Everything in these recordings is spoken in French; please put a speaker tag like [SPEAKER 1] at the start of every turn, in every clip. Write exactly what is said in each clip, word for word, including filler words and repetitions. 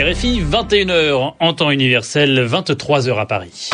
[SPEAKER 1] R F I, vingt et une heures en temps universel, vingt-trois heures à Paris.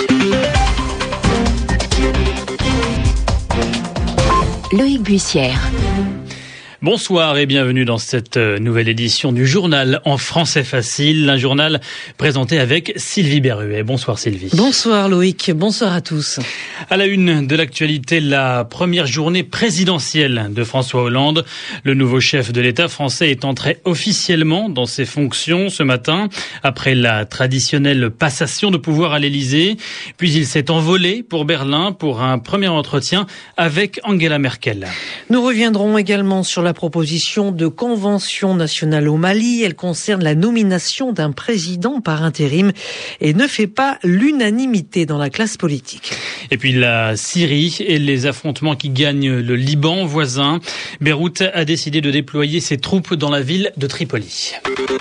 [SPEAKER 2] Loïc Bussière.
[SPEAKER 1] Bonsoir et bienvenue dans cette nouvelle édition du journal en français facile, un journal présenté avec Sylvie Berruet. Bonsoir Sylvie.
[SPEAKER 3] Bonsoir Loïc, bonsoir à tous.
[SPEAKER 1] À la une de l'actualité, la première journée présidentielle de François Hollande. Le nouveau chef de l'État français est entré officiellement dans ses fonctions ce matin, après la traditionnelle passation de pouvoir à l'Élysée. Puis il s'est envolé pour Berlin pour un premier entretien avec Angela Merkel.
[SPEAKER 3] Nous reviendrons également sur la proposition de convention nationale au Mali. Elle concerne la nomination d'un président par intérim et ne fait pas l'unanimité dans la classe politique.
[SPEAKER 1] Et puis la Syrie et les affrontements qui gagnent le Liban voisin. Beyrouth a décidé de déployer ses troupes dans la ville de Tripoli.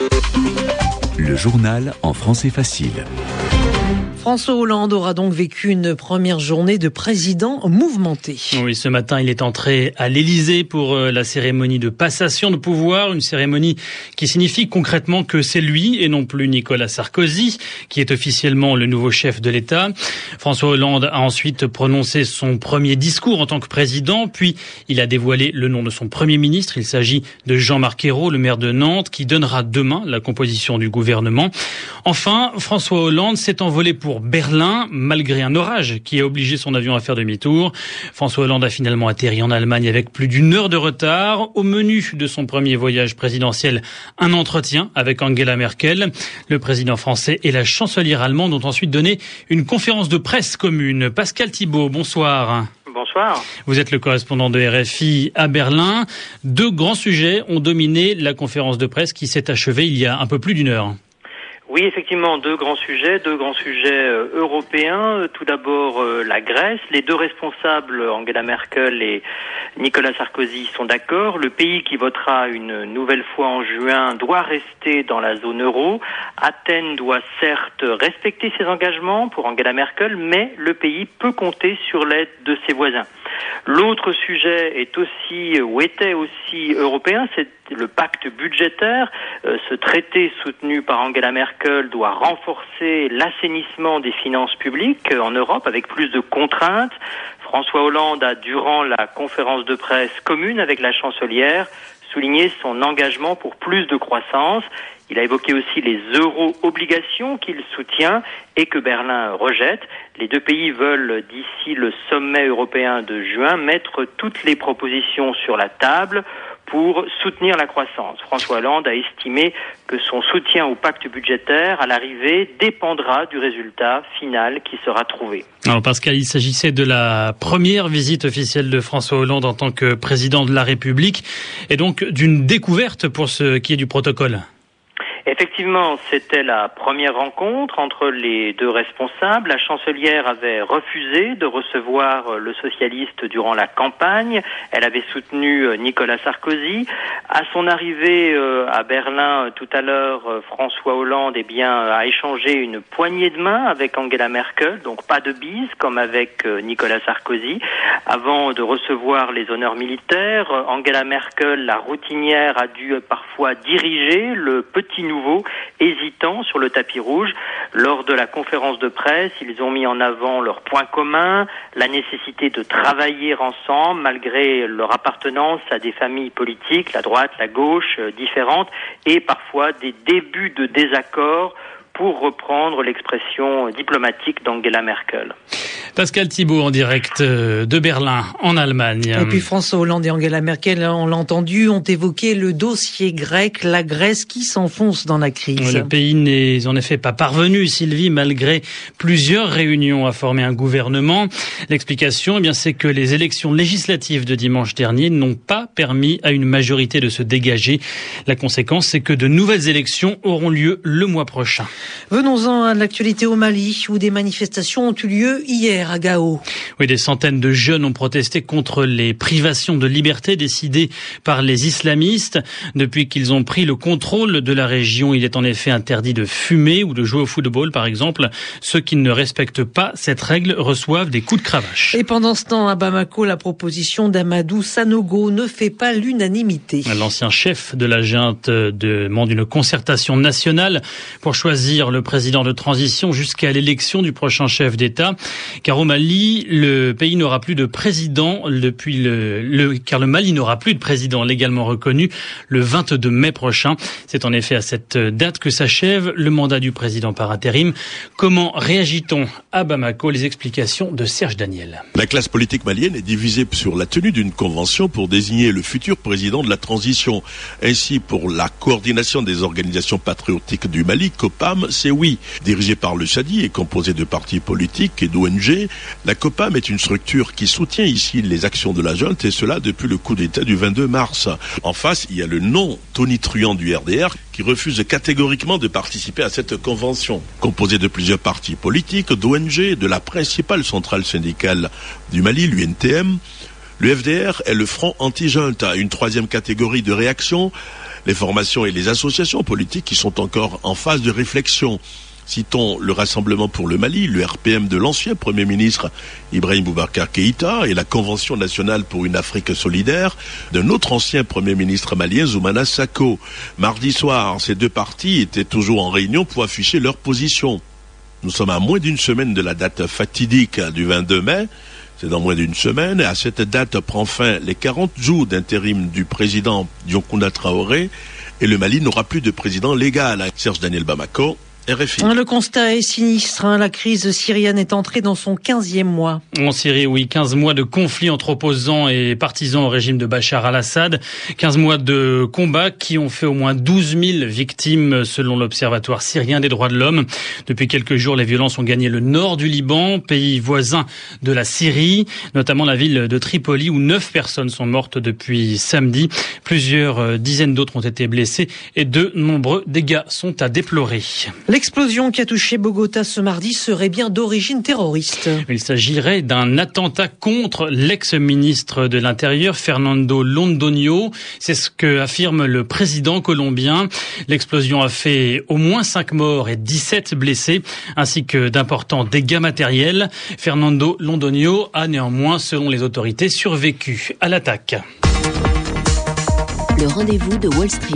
[SPEAKER 4] Le journal en français facile.
[SPEAKER 3] François Hollande aura donc vécu une première journée de président mouvementée.
[SPEAKER 1] Oui, ce matin, il est entré à l'Élysée pour la cérémonie de passation de pouvoir, une cérémonie qui signifie concrètement que c'est lui et non plus Nicolas Sarkozy qui est officiellement le nouveau chef de l'État. François Hollande a ensuite prononcé son premier discours en tant que président, puis il a dévoilé le nom de son premier ministre. Il s'agit de Jean-Marc Ayrault, le maire de Nantes, qui donnera demain la composition du gouvernement. Enfin, François Hollande s'est envolé pour Berlin, malgré un orage qui a obligé son avion à faire demi-tour. François Hollande a finalement atterri en Allemagne avec plus d'une heure de retard. Au menu de son premier voyage présidentiel, un entretien avec Angela Merkel. Le président français et la chancelière allemande ont ensuite donné une conférence de presse commune. Pascal Thibault, bonsoir.
[SPEAKER 5] Bonsoir.
[SPEAKER 1] Vous êtes le correspondant de R F I à Berlin. Deux grands sujets ont dominé la conférence de presse qui s'est achevée il y a un peu plus d'une heure.
[SPEAKER 5] Oui, effectivement, deux grands sujets, deux grands sujets euh, européens. Tout d'abord, euh, la Grèce. Les deux responsables, Angela Merkel et Nicolas Sarkozy, sont d'accord. Le pays qui votera une nouvelle fois en juin doit rester dans la zone euro. Athènes doit certes respecter ses engagements pour Angela Merkel, mais le pays peut compter sur l'aide de ses voisins. L'autre sujet est aussi, ou était aussi européen, c'est le pacte budgétaire. Euh, ce traité soutenu par Angela Merkel doit renforcer l'assainissement des finances publiques en Europe avec plus de contraintes. François Hollande a, durant la conférence de presse commune avec la chancelière, souligné son engagement pour plus de croissance. Il a évoqué aussi les euro-obligations qu'il soutient et que Berlin rejette. Les deux pays veulent, d'ici le sommet européen de juin, mettre toutes les propositions sur la table pour soutenir la croissance. François Hollande a estimé que son soutien au pacte budgétaire, à l'arrivée, dépendra du résultat final qui sera trouvé.
[SPEAKER 1] Alors Pascal, il s'agissait de la première visite officielle de François Hollande en tant que président de la République et donc d'une découverte pour ce qui est du protocole.
[SPEAKER 5] Effectivement, c'était la première rencontre entre les deux responsables. La chancelière avait refusé de recevoir le socialiste durant la campagne. Elle avait soutenu Nicolas Sarkozy. À son arrivée à Berlin tout à l'heure, François Hollande eh bien, a échangé une poignée de main avec Angela Merkel, donc pas de bise comme avec Nicolas Sarkozy. Avant de recevoir les honneurs militaires, Angela Merkel, la routinière, a dû parfois diriger le petit nouveau, hésitant sur le tapis rouge. Lors de la conférence de presse, ils ont mis en avant leurs points communs, la nécessité de travailler ensemble malgré leur appartenance à des familles politiques, la droite, la gauche, euh, différentes, et parfois des débuts de désaccord, pour reprendre l'expression diplomatique d'Angela Merkel.
[SPEAKER 1] Pascal Thibault en direct de Berlin, en Allemagne.
[SPEAKER 3] Et puis François Hollande et Angela Merkel, on l'a entendu, ont évoqué le dossier grec, la Grèce qui s'enfonce dans la crise.
[SPEAKER 1] Le pays n'est en effet pas parvenu, Sylvie, malgré plusieurs réunions à former un gouvernement. L'explication, eh bien, c'est que les élections législatives de dimanche dernier n'ont pas permis à une majorité de se dégager. La conséquence, c'est que de nouvelles élections auront lieu le mois prochain.
[SPEAKER 3] Venons-en à l'actualité au Mali, où des manifestations ont eu lieu hier. hier à Gao.
[SPEAKER 1] Oui, des centaines de jeunes ont protesté contre les privations de liberté décidées par les islamistes. Depuis qu'ils ont pris le contrôle de la région, il est en effet interdit de fumer ou de jouer au football, par exemple. Ceux qui ne respectent pas cette règle reçoivent des coups de cravache.
[SPEAKER 3] Et pendant ce temps, à Bamako, la proposition d'Amadou Sanogo ne fait pas l'unanimité.
[SPEAKER 1] L'ancien chef de la junte demande une concertation nationale pour choisir le président de transition jusqu'à l'élection du prochain chef d'État. Car au Mali, le pays n'aura plus de président depuis le, le car le Mali n'aura plus de président légalement reconnu le vingt-deux mai prochain. C'est en effet à cette date que s'achève le mandat du président par intérim. Comment réagit-on à Bamako? Les explications de Serge Daniel.
[SPEAKER 6] La classe politique malienne est divisée sur la tenue d'une convention pour désigner le futur président de la transition. Ainsi, pour la coordination des organisations patriotiques du Mali, COPAM, c'est oui. Dirigée par le Chadi et composée de partis politiques et d'O N G, la COPAM est une structure qui soutient ici les actions de la junte, et cela depuis le coup d'État du vingt-deux mars. En face, il y a le non tonitruant du R D R qui refuse catégoriquement de participer à cette convention. Composée de plusieurs partis politiques, d'O N G, de la principale centrale syndicale du Mali, l'U N T M, le F D R est le front anti-junte. Une troisième catégorie de réaction, les formations et les associations politiques qui sont encore en phase de réflexion. Citons le Rassemblement pour le Mali, le R P M de l'ancien Premier ministre Ibrahim Boubacar Keïta et la Convention nationale pour une Afrique solidaire d'un autre ancien Premier ministre malien, Zoumana Sako. Mardi soir, ces deux partis étaient toujours en réunion pour afficher leur position. Nous sommes à moins d'une semaine de la date fatidique du vingt-deux mai. C'est dans moins d'une semaine. Et à cette date prend fin les quarante jours d'intérim du président Dioncounda Traoré et le Mali n'aura plus de président légal. Serge Daniel, Bamako, R F I.
[SPEAKER 3] Le constat est sinistre. Hein. La crise syrienne est entrée dans son quinzième mois.
[SPEAKER 1] En Syrie, oui, quinze mois de conflit entre opposants et partisans au régime de Bachar al-Assad. quinze mois de combats qui ont fait au moins douze mille victimes selon l'Observatoire syrien des droits de l'homme. Depuis quelques jours, les violences ont gagné le nord du Liban, pays voisin de la Syrie, notamment la ville de Tripoli où neuf personnes sont mortes depuis samedi. Plusieurs dizaines d'autres ont été blessées et de nombreux dégâts sont à déplorer.
[SPEAKER 3] L'explosion qui a touché Bogota ce mardi serait bien d'origine terroriste.
[SPEAKER 1] Il s'agirait d'un attentat contre l'ex-ministre de l'Intérieur, Fernando Londoño. C'est ce que affirme le président colombien. L'explosion a fait au moins cinq morts et dix-sept blessés, ainsi que d'importants dégâts matériels. Fernando Londoño a néanmoins, selon les autorités, survécu à l'attaque.
[SPEAKER 2] Le rendez-vous de Wall Street.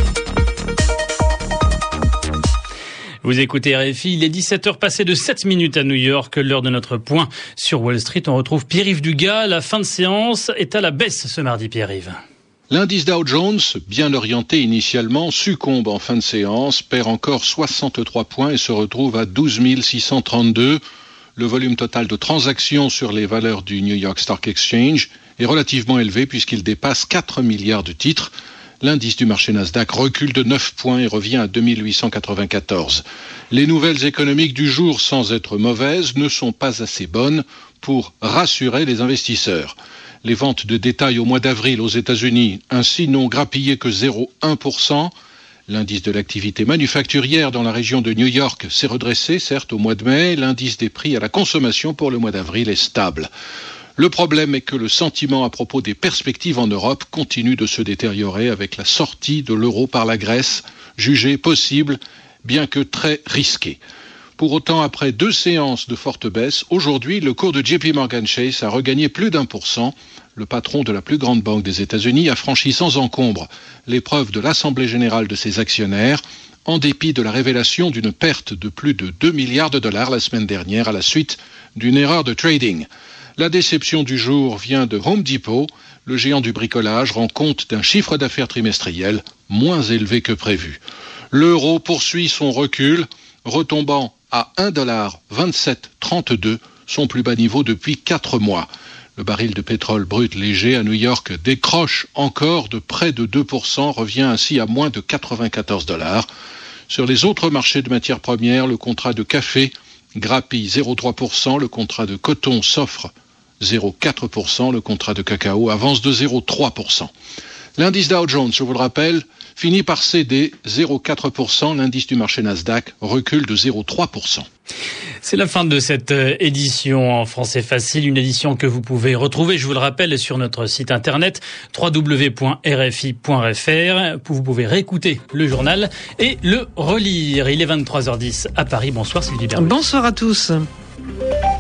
[SPEAKER 1] Vous écoutez R F I, il est dix-sept heures passées de sept minutes à New York, l'heure de notre point sur Wall Street. On retrouve Pierre-Yves Dugas. La fin de séance est à la baisse ce mardi, Pierre-Yves.
[SPEAKER 7] L'indice Dow Jones, bien orienté initialement, succombe en fin de séance, perd encore soixante-trois points et se retrouve à douze mille six cent trente-deux. Le volume total de transactions sur les valeurs du New York Stock Exchange est relativement élevé puisqu'il dépasse quatre milliards de titres. L'indice du marché Nasdaq recule de neuf points et revient à deux mille huit cent quatre-vingt-quatorze. Les nouvelles économiques du jour, sans être mauvaises, ne sont pas assez bonnes pour rassurer les investisseurs. Les ventes de détail au mois d'avril aux États-Unis, ainsi, n'ont grappillé que zéro virgule un pour cent. L'indice de l'activité manufacturière dans la région de New York s'est redressé, certes, au mois de mai. L'indice des prix à la consommation pour le mois d'avril est stable. Le problème est que le sentiment à propos des perspectives en Europe continue de se détériorer avec la sortie de l'euro par la Grèce, jugée possible, bien que très risquée. Pour autant, après deux séances de forte baisse, aujourd'hui, le cours de J P Morgan Chase a regagné plus d'un pour cent. Le patron de la plus grande banque des États-Unis a franchi sans encombre l'épreuve de l'Assemblée générale de ses actionnaires, en dépit de la révélation d'une perte de plus de deux milliards de dollars la semaine dernière à la suite d'une erreur de trading. La déception du jour vient de Home Depot. Le géant du bricolage rend compte d'un chiffre d'affaires trimestriel moins élevé que prévu. L'euro poursuit son recul, retombant à un dollar vingt-sept trente-deux, son plus bas niveau depuis quatre mois. Le baril de pétrole brut léger à New York décroche encore de près de deux pour cent, revient ainsi à moins de quatre-vingt-quatorze dollars. Sur les autres marchés de matières premières, le contrat de café grappille zéro virgule trois pour cent, le contrat de coton s'offre zéro virgule quatre pour cent, le contrat de cacao avance de zéro virgule trois pour cent. L'indice Dow Jones, je vous le rappelle, finit par céder zéro virgule quatre pour cent. L'indice du marché Nasdaq recule de zéro virgule trois pour cent.
[SPEAKER 1] C'est la fin de cette édition en français facile, une édition que vous pouvez retrouver, je vous le rappelle, sur notre site internet w w w point r f i point f r. Vous pouvez réécouter le journal et le relire. Il est vingt-trois heures dix à Paris. Bonsoir Sylvie Berruet.
[SPEAKER 3] Bonsoir à tous.